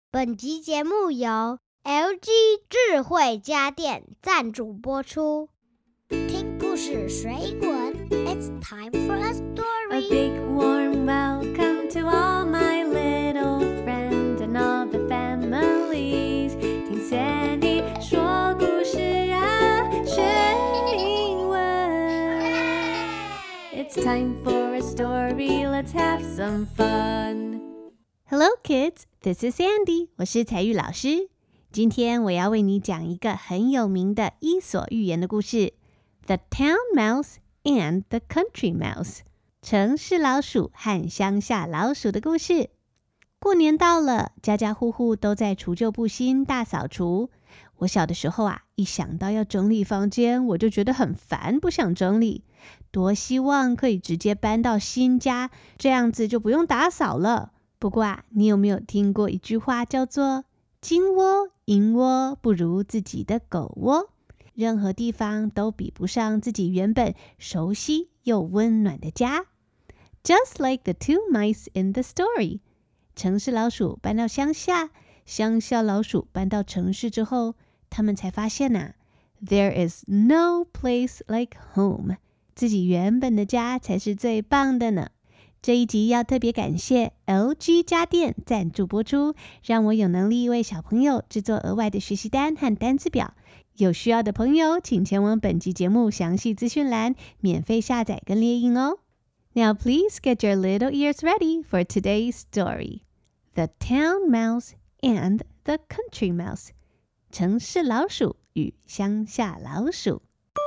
本集節目由 LG 智慧家電贊助播出。聽故事水滾 It's time for a story. A big warm welcome to all my little friends and all the families. 聽 Sandy 說故事啊，學英文。It's time for a story, let's have some fun.Hello kids, this is Sandy. 我是采玉老師。今天我要為你講一個很有名的伊索寓言的故事 The Town Mouse and the Country Mouse 城市老鼠和鄉下老鼠的故事。過年到了，家家戶戶都在除舊布新大掃除。我小的時候啊，一想到要整理房間，我就覺得很煩，不想整理。多希望可以直接搬到新家，這樣子就不用打掃了。不過啊，你有沒有聽過一句話叫做金窩銀窩不如自己的狗窩？任何地方都比不上自己原本熟悉又溫暖的家。Just like the two mice in the story， 城市老鼠搬到鄉下，鄉下老鼠搬到城市之後，他們才發現啊 There is no place like home， 自己原本的家才是最棒的呢。這一集要特別感謝 LG 家電贊助播出，讓我有能力為小朋友製作額外的學習單和單字表。有需要的朋友，請前往本集節目詳細資訊欄，免費下載跟列印哦。Now please get your little ears ready for today's story. The Town Mouse and the Country Mouse. 城市老鼠與鄉下老鼠。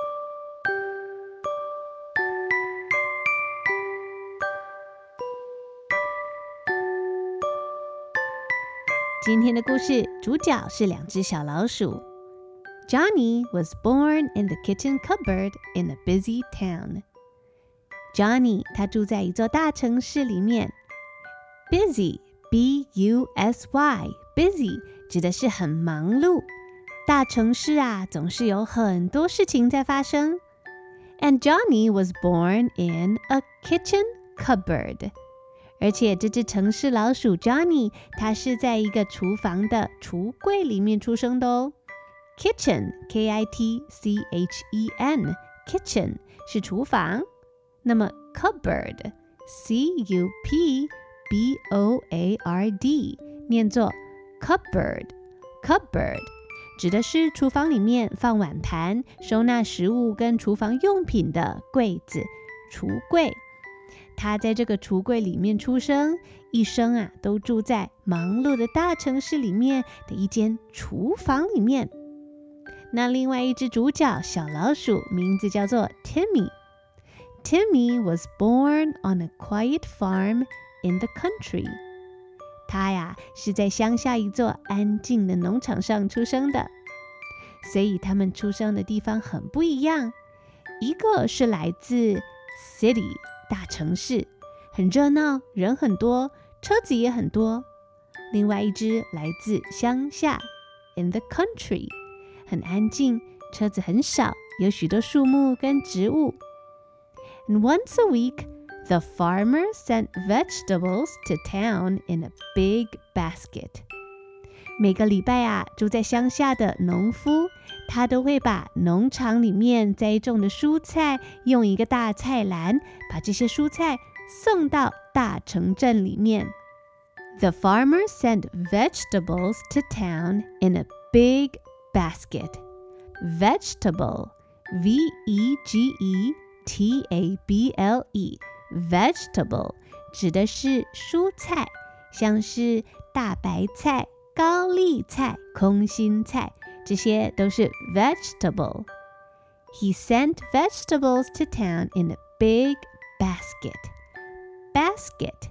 今天的故事主角是兩隻小老鼠。Johnny was born in the kitchen cupboard in a busy town. Johnny 他住在一座大城市裡面。Busy, B-U-S-Y, busy 指的是很忙碌。大城市啊，總是有很多事情在發生。And Johnny was born in a kitchen cupboard.而且這隻城市老鼠 Johnny， 它是在一個廚房的櫥櫃裡面出生的哦。Kitchen, K-I-T-C-H-E-N, Kitchen 是廚房。那麼 Cupboard, C-U-P-B-O-A-R-D 念作 Cupboard, Cupboard 指的是廚房裡面放碗盤、收納食物跟廚房用品的櫃子、櫥櫃。他在這個櫥櫃裡面出生，一生啊都住在忙碌的大城市裡面的一間廚房裡面。那另外一隻主角小老鼠名字叫做 Timmy。Timmy was born on a quiet farm in the country。他呀是在鄉下一座安靜的農場上出生的，所以他們出生的地方很不一樣。一個是來自 city。大城市很熱鬧，人很多，車子也很多。另外一隻來自鄉下 in the country， 很安靜，車子很少，有許多樹木跟植物。And once a week, the farmer sent vegetables to town in a big basket. 每個禮拜啊，住在鄉下的農夫，他都會把農場裡面栽種的蔬菜用一個大菜籃，把這些蔬菜送到大城鎮裡面。The farmer sent vegetables to town in a big basket. Vegetable, V-E-G-E-T-A-B-L-E, vegetable 指的是蔬菜，像是大白菜、高麗菜、空心菜，這些都是 vegetable. He sent vegetables to town in a big basket. Basket,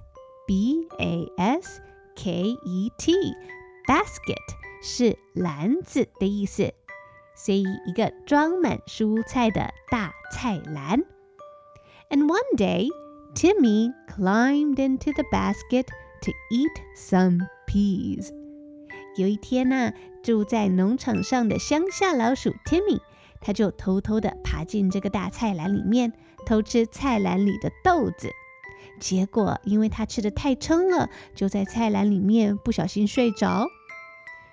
B-A-S-K-E-T, basket 是籃子的意思，所以一個裝滿蔬菜的大菜籃。And one day, Timmy climbed into the basket to eat some peas. 有一天啊，住在農場上的鄉下老鼠 Timmy， 他就偷偷地爬進這個大菜籃裡面，偷吃菜籃裡的豆子。結果因為他吃得太撐了，就在菜籃裡面不小心睡着。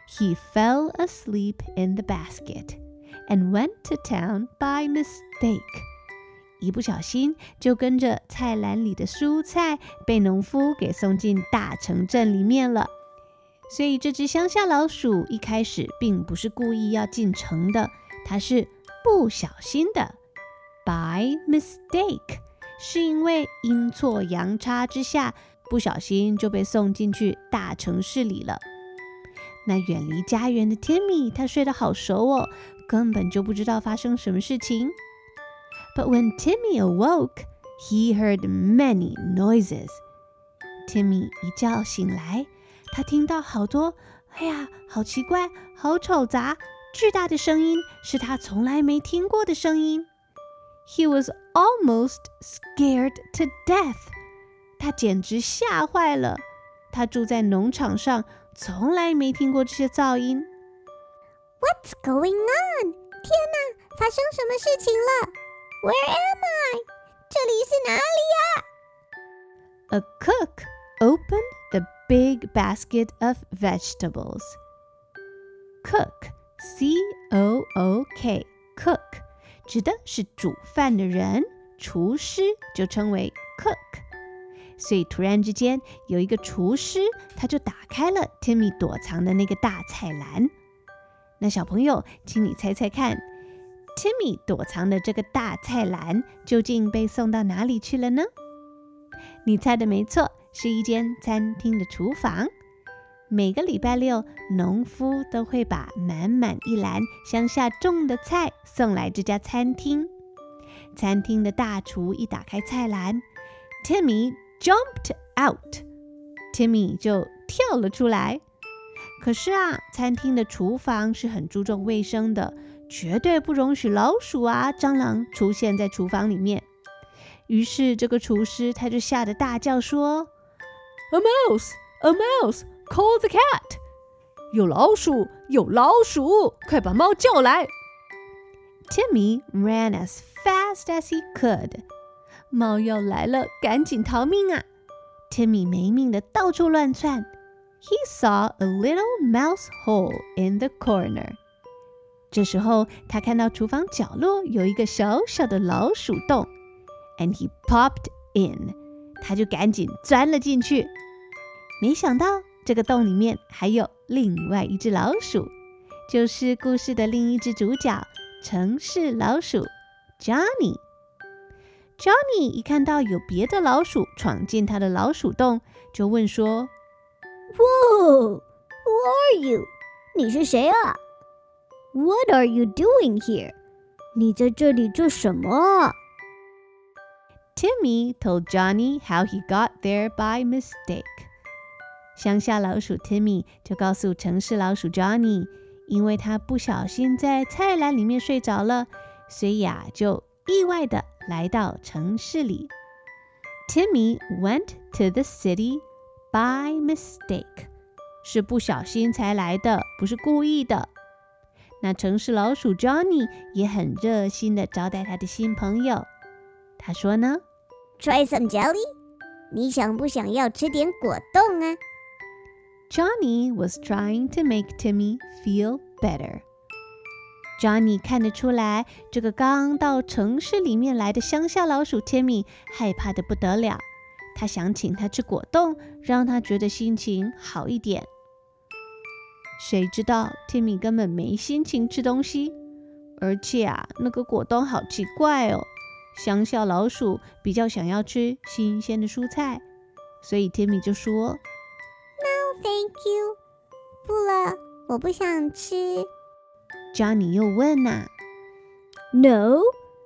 he fell asleep in the basket and went to town by mistake. 一不小心就跟着菜籃裡的蔬菜被農夫給送進大城鎮裡面了。所以這隻鄉下老鼠一開始並不是故意要進城的，它是不小心的。By mistake 是因為陰錯陽差之下，不小心就被送進去大城市裡了。那遠離家園的 Timmy 他睡得好熟哦，根本就不知道發生什麼事情。But when Timmy awoke, he heard many noises. Timmy 一覺醒來，他聽到好多，好奇怪，好吵雜，巨大的聲音，是他從來沒聽過的聲音。He was almost scared to death. 他簡直嚇壞了。他住在農場上，從來沒聽過這些噪音。 What's going on? 天哪，發生什麼事情了？ Where am I? 這裡是哪裡呀？ A cook opened the big basket of vegetables. Cook, C-O-O-K, cook, 指的是煮飯的人，廚師就稱為 cook。所以突然之間，有一個廚師，他就打開了 Timmy 躲藏的那個大菜籃。那小朋友，請你猜猜看， Timmy 躲藏的這個大菜籃究竟被送到哪裡去了呢？你猜的沒錯，是一間餐廳的廚房。每個禮拜六，農夫都會把滿滿一籃鄉下種的菜送來這家餐廳。餐廳的大廚一打開菜籃， Timmy jumped out. Timmy 就跳了出來。可是啊，餐廳的廚房是很注重衛生的，絕對不容許老鼠啊、蟑螂出現在廚房裡面。於是這個廚師他就嚇得大叫說 A mouse! A mouse! Call the cat! 有老鼠！有老鼠！快把貓叫來！ Timmy ran as fast as he could. 貓要來了，趕緊逃命啊！ Timmy 沒命的到處亂竄。He saw a little mouse hole in the corner. 這時候，他看到廚房角落有一個小小的老鼠洞 ，and he popped in. 他就趕緊鑽了進去。沒想到，這個洞裡面還有另外一隻老鼠，就是故事的另一隻主角——城市老鼠 Johnny。Johnny 一看到有別的老鼠闖進他的老鼠洞，就問說 Whoa! Who are you? 你是誰啊？ What are you doing here? 你在這裡做什麼？ Timmy told Johnny how he got there by mistake. 鄉下老鼠 Timmy 就告訴城市老鼠 Johnny， 因為他不小心在菜籃裡面睡着了，所以就意外的來到城市裡。Timmy went to the city by mistake. 是不小心才來的，不是故意的。那城市老鼠 Johnny 也很熱心的招待他的新朋友。他說呢 Try some jelly? 你想不想要吃點果凍啊？ Johnny was trying to make Timmy feel better. Johnny 看得出來，這個剛到城市裡面來的鄉下老鼠 Timmy 害怕得不得了。他想請他吃果凍，讓他覺得心情好一點。誰知道 Timmy 根本沒心情吃東西，而且那個果凍好奇怪哦。鄉下老鼠比較想要吃新鮮的蔬菜，所以 Timmy 就說 No, thank you. 不了，我不想吃。 Johnny 又問 No?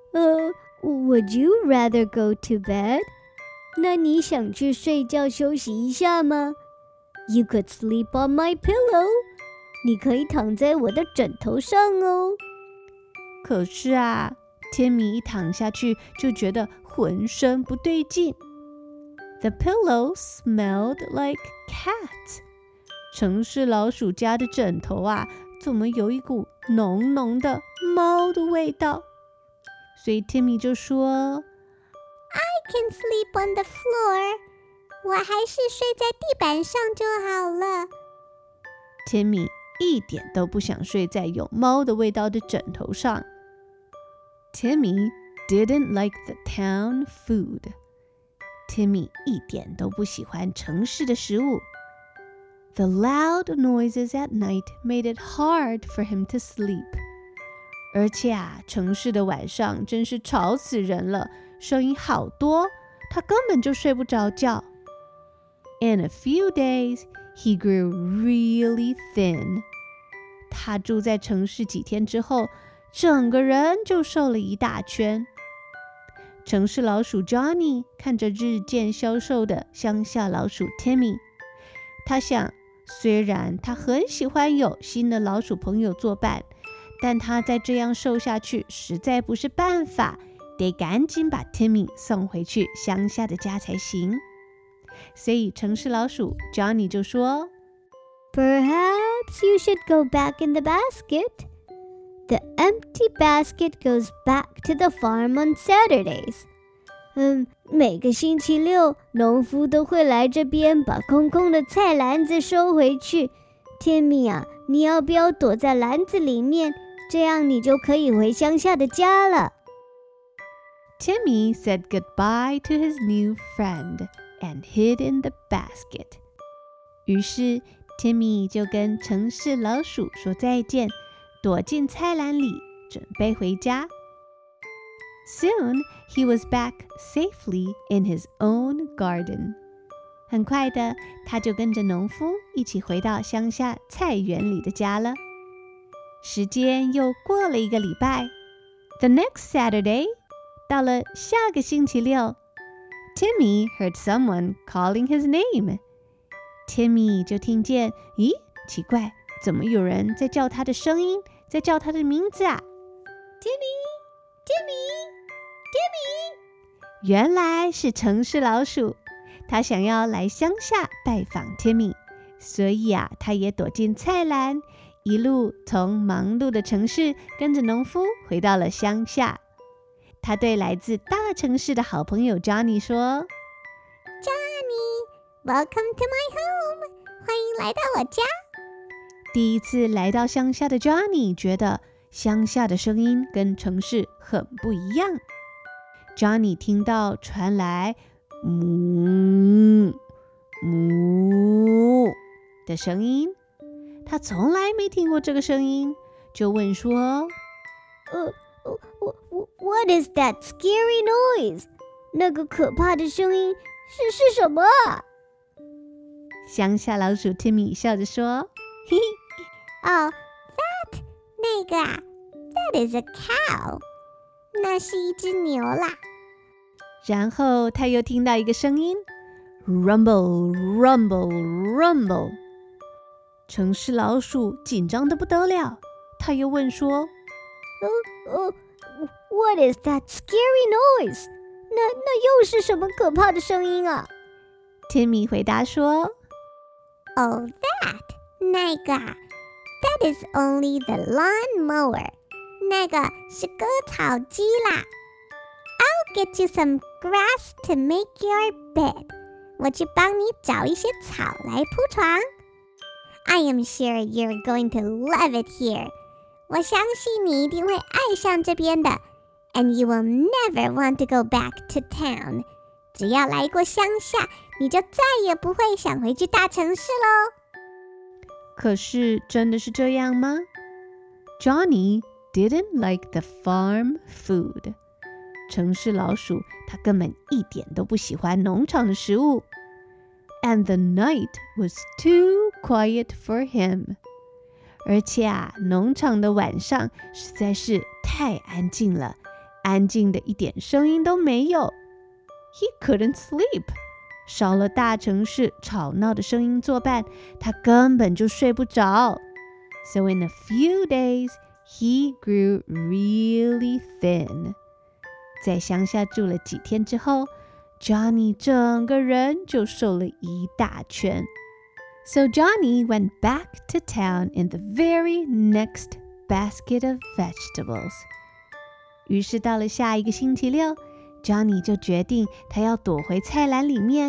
Would you rather go to bed? 那你想去睡覺休息一下嗎？ You could sleep on my pillow. 你可以躺在我的枕頭上哦。 可是Timmy 一躺下去就覺得渾身不對勁。The pillow smelled like cat. 城市老鼠家的枕頭怎麼有一股濃濃的貓的味道？所以 Timmy 就說 I can sleep on the floor. 我還是睡在地板上就好了。 Timmy 一點都不想睡在有貓的味道的枕頭上。Timmy didn't like the town food. Timmy 一點都不喜歡城市的食物。The loud noises at night made it hard for him to sleep. 而且城市的晚上真是吵死人了，聲音好多，他根本就睡不着覺。In a few days, he grew really thin. 他住在城市幾天之後，整個人就瘦了一大圈。城市老鼠 Johnny 看着日漸消瘦的鄉下老鼠 Timmy， 他想，雖然他很喜歡有新的老鼠朋友作伴，但他再這樣瘦下去實在不是辦法，得趕緊把 Timmy 送回去鄉下的家才行。所以城市老鼠 Johnny 就說， Perhaps you should go back in the basket. The empty basket goes back to the farm on Saturdays. 每個星期六，農夫都會來這邊把空空的菜籃子收回去。Timmy 啊，你要不要躲在籃子裡面？這樣你就可以回鄉下的家了。 Timmy said goodbye to his new friend and hid in the basket. 於是 Timmy 就跟城市老鼠說再見，躲進菜籃裡，準備回家。Soon, he was back safely in his own garden. 很快的，他就跟着農夫一起回到鄉下菜園裡的家了。時間又過了一個禮拜。The next Saturday, 到了下個星期六 ，Timmy heard someone calling his name. Timmy 就聽見，咦，奇怪，怎麼有人在叫他的聲音，在叫他的名字啊 ？Timmy, Timmy, Timmy！ 原來是城市老鼠，他想要來鄉下拜訪 Timmy， 所以他也躲進菜籃，一路從忙碌的城市跟着農夫回到了鄉下。他對來自大城市的好朋友 Johnny 說 ：“Johnny, welcome to my home， 歡迎來到我家。” 第一次來到鄉下的 Johnny 覺得鄉下的聲音跟城市很不一樣。Johnny 聽到傳來哞哞的聲音，他從來沒聽過這個聲音，就問說 ：“What is that scary noise？ 那個可怕的聲音是什麼啊？” 鄉下老鼠 Timmy 笑着說：“嘿嘿， 哦，那個，that is a cow， 那是一隻牛啦。” 然後他又聽到一個聲音 ，rumble rumble rumble。城市老鼠緊張得不得了，他又問說 ：“What is that scary noise？ 那又是什麼可怕的聲音啊？” Timmy 回答說 ：“Oh,那個，that is only the lawn mower， 那個是割草機啦。I'll get you some grass to make your bed， 我去幫你找一些草來鋪床。I am sure you're going to love it here， 我相信你一定會愛上這邊的。And you will never want to go back to town， 只要來過鄉下，你就再也不會想回去大城市咯。” 可是真的是這樣嗎？ Johnny didn't like the farm food。城市老鼠他根本一點都不喜歡農場的食物。And the night was too quiet for him。而且農場的晚上實在是太安靜了，安靜的一點聲音都沒有。He couldn't sleep。少了大城市吵鬧的聲音作伴，他根本就睡不着。So in a few days, he grew really thin. 在鄉下住了幾天之後 ，Johnny 整個人就瘦了一大圈。So Johnny went back to town in the very next basket of vegetables. 於是到了下一個星期六，Johnny 就決定他要躲回菜籃裡面，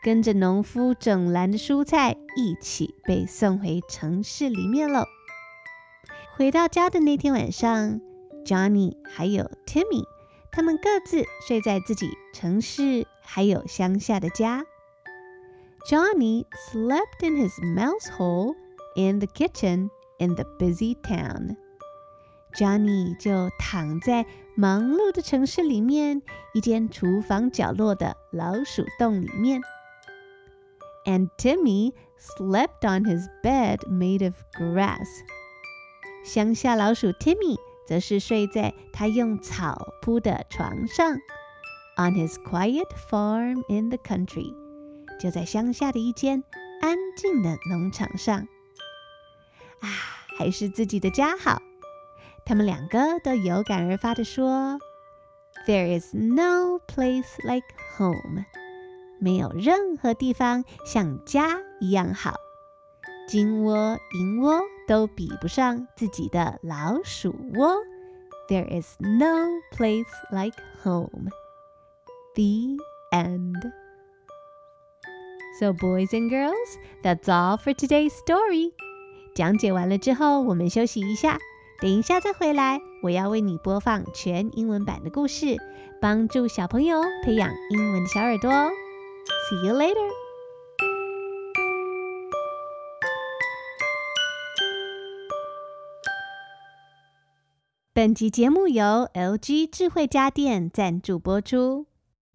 跟着農夫整籃的蔬菜一起被送回城市裡面了。回到家的那天晚上， Johnny 還有 Timmy 他們各自睡在自己城市還有鄉下的家。Johnny slept in his mouse hole in the kitchen in the busy town. Johnny 就躺在忙碌的城市裡面一間廚房角落的老鼠洞裡面。And Timmy slept on his bed made of grass. 鄉下老鼠 Timmy 則是睡在他用草鋪的床上 on his quiet farm in the country. 就在鄉下的一間安靜的農場上。還是自己的家好。他們兩個都有感而發地說 There is no place like home. 沒有任何地方像家一樣好。金窩銀窩都比不上自己的老鼠窩。There is no place like home. The end. So boys and girls, that's all for today's story. 講解完了之後，我們休息一下，等一下再回來，我要為你播放全英文版的故事，幫助小朋友培養英文的小耳朵哦。See you later. 本集節目由 LG 智慧家電贊助播出。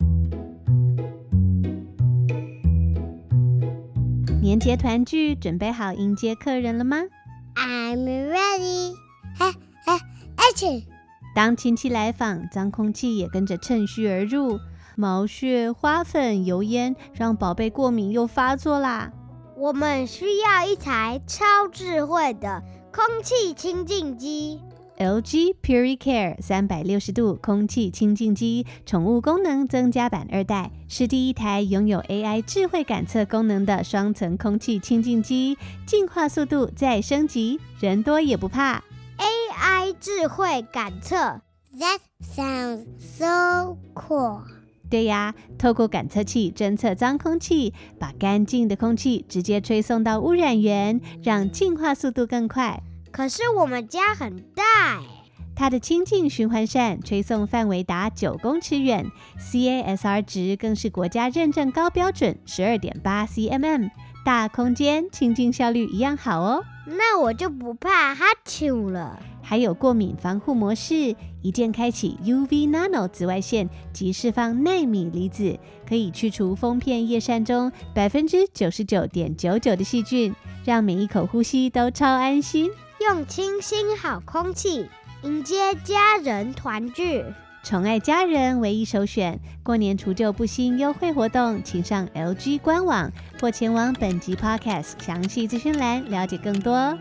年節團聚，準備好迎接客人了嗎？ I'm ready. Action! 當親戚來訪，髒空氣也跟着趁虛而入，毛屑、花粉、油煙讓寶貝過敏又發作啦。 我們需要一台超智慧的空氣清淨機。 LG PuriCare 360度空氣清淨機寵物功能增加版2代，是第一台擁有 AI 智慧感測功能的雙層空氣清淨機，淨化速度再升級，人多也不怕。 AI 智慧感測 That sounds so cool. 對呀，透過感測器偵測髒空氣，把乾淨的空氣直接吹送到污染源，讓淨化速度更快。 可是我們家很大耶。 它的清淨循環扇吹送範圍達9公尺遠 ，CASR 值更是國家認證高標準12.8 cmm， 大空間清淨效率一樣好哦。 那我就不怕哈啾了。 還有過敏防護模式，一鍵開啟 UV Nano 紫外線及釋放奈米離子，可以去除封片葉扇中 99.99% 的細菌，讓每一口呼吸都超安心。 用清新好空氣迎接家人團聚， 寵愛家人唯一首選。過年除舊布新優惠活動，請上 LG 官網或前往本集 Podcast 詳細資訊欄了解更多。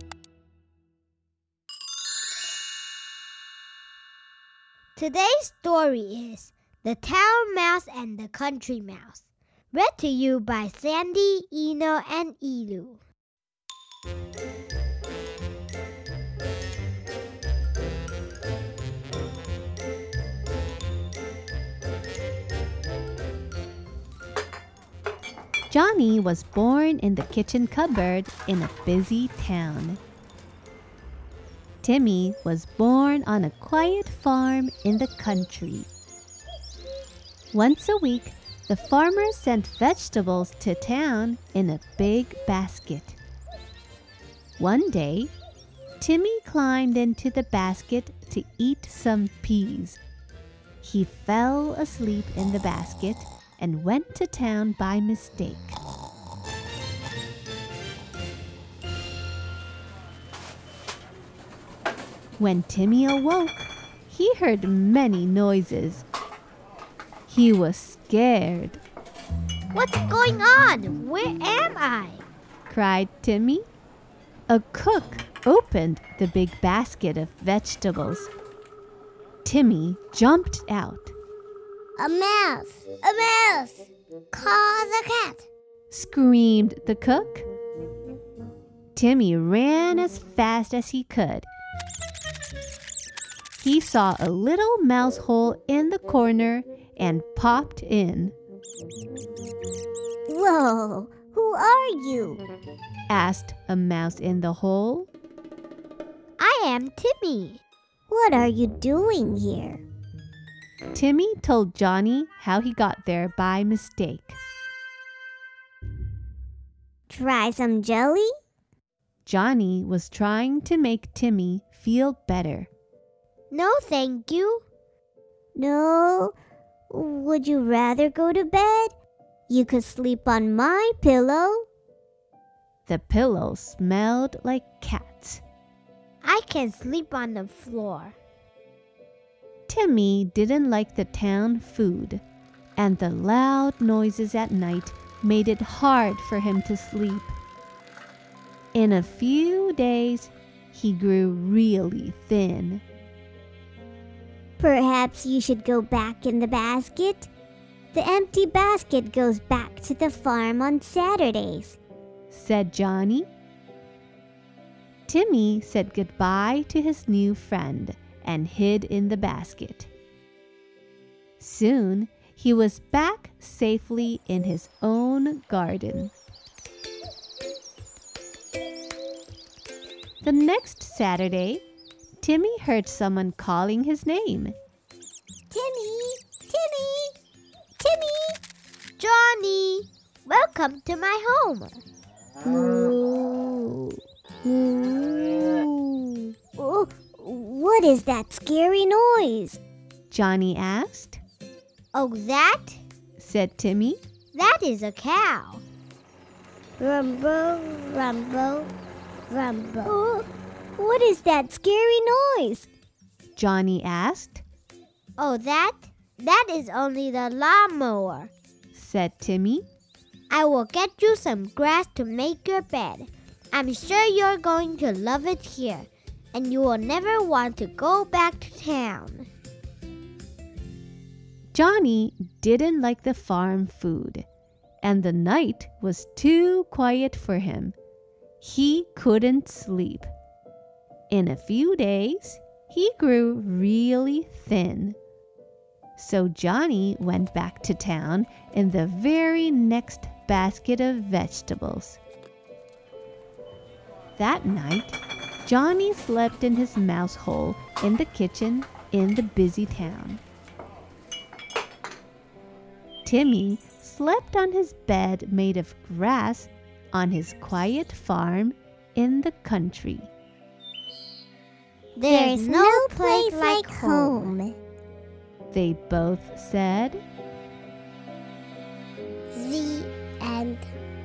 Today's story is The Town Mouse and the Country Mouse, read to you by Sandy, Eno, and Elu. Johnny was born in the kitchen cupboard in a busy town. Timmy was born on a quiet farm in the country. Once a week, the farmer sent vegetables to town in a big basket. One day, Timmy climbed into the basket to eat some peas. He fell asleep in the basket and went to town by mistake. When Timmy awoke, he heard many noises. He was scared. What's going on? Where am I? Cried Timmy. A cook opened the big basket of vegetables. Timmy jumped out. A mouse! A mouse! Call the cat! Screamed the cook. Timmy ran as fast as he could. He saw a little mouse hole in the corner and popped in. Hello, who are you? asked a mouse in the hole. I am Timmy. What are you doing here? Timmy told Johnny how he got there by mistake. Try some jelly? Johnny was trying to make Timmy feel better. No, thank you. No. Would you rather go to bed? You could sleep on my pillow. The pillow smelled like cats. I can sleep on the floor. Timmy didn't like the town food, and the loud noises at night made it hard for him to sleep. In a few days, he grew really thin. Perhaps you should go back in the basket. The empty basket goes back to the farm on Saturdays, said Johnny. Timmy said goodbye to his new friend and hid in the basket. Soon, he was back safely in his own garden. The next Saturday, Timmy heard someone calling his name. Timmy! Timmy! Timmy! Johnny, welcome to my home. Moo. Moo. Oh, what is that scary noise? Johnny asked. Oh, that? Said Timmy. That is a cow. Rumble, rumble, rumble. Oh, what is that scary noise? Johnny asked. Oh, that is only the lawnmower, said Timmy. I will get you some grass to make your bed. I'm sure you're going to love it here, and you will never want to go back to town. Johnny didn't like the farm food, and the night was too quiet for him. He couldn't sleep. In a few days, he grew really thin. So Johnny went back to town in the very next basket of vegetables. That night, Johnny slept in his mouse hole in the kitchen in the busy town. Timmy slept on his bed made of grass on his quiet farm in the country. There's no place like home, they both said. The end.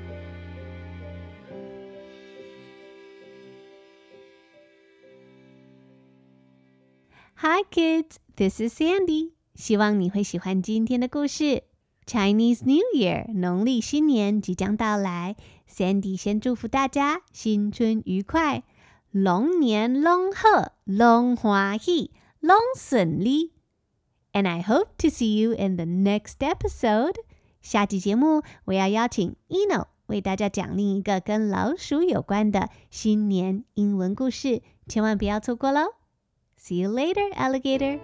Hi kids, this is Sandy. 希望你会喜歡今天的故事。Chinese New Year 農曆新年即將到來 ，Sandy 先祝福大家新春愉快，龍年龍賀，龍歡喜，龍順利。And I hope to see you in the next episode. 下集節目我要邀請 Eno 為大家講另一個跟老鼠有關的新年英文故事，千萬不要錯過嘍。See you later, alligator.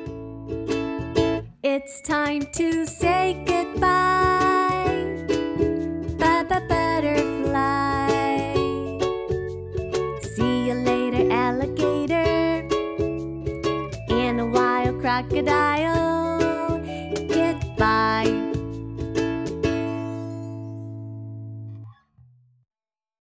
It's time to say goodbye. Bye-bye, butterfly. See you later, alligator. And a wild crocodile.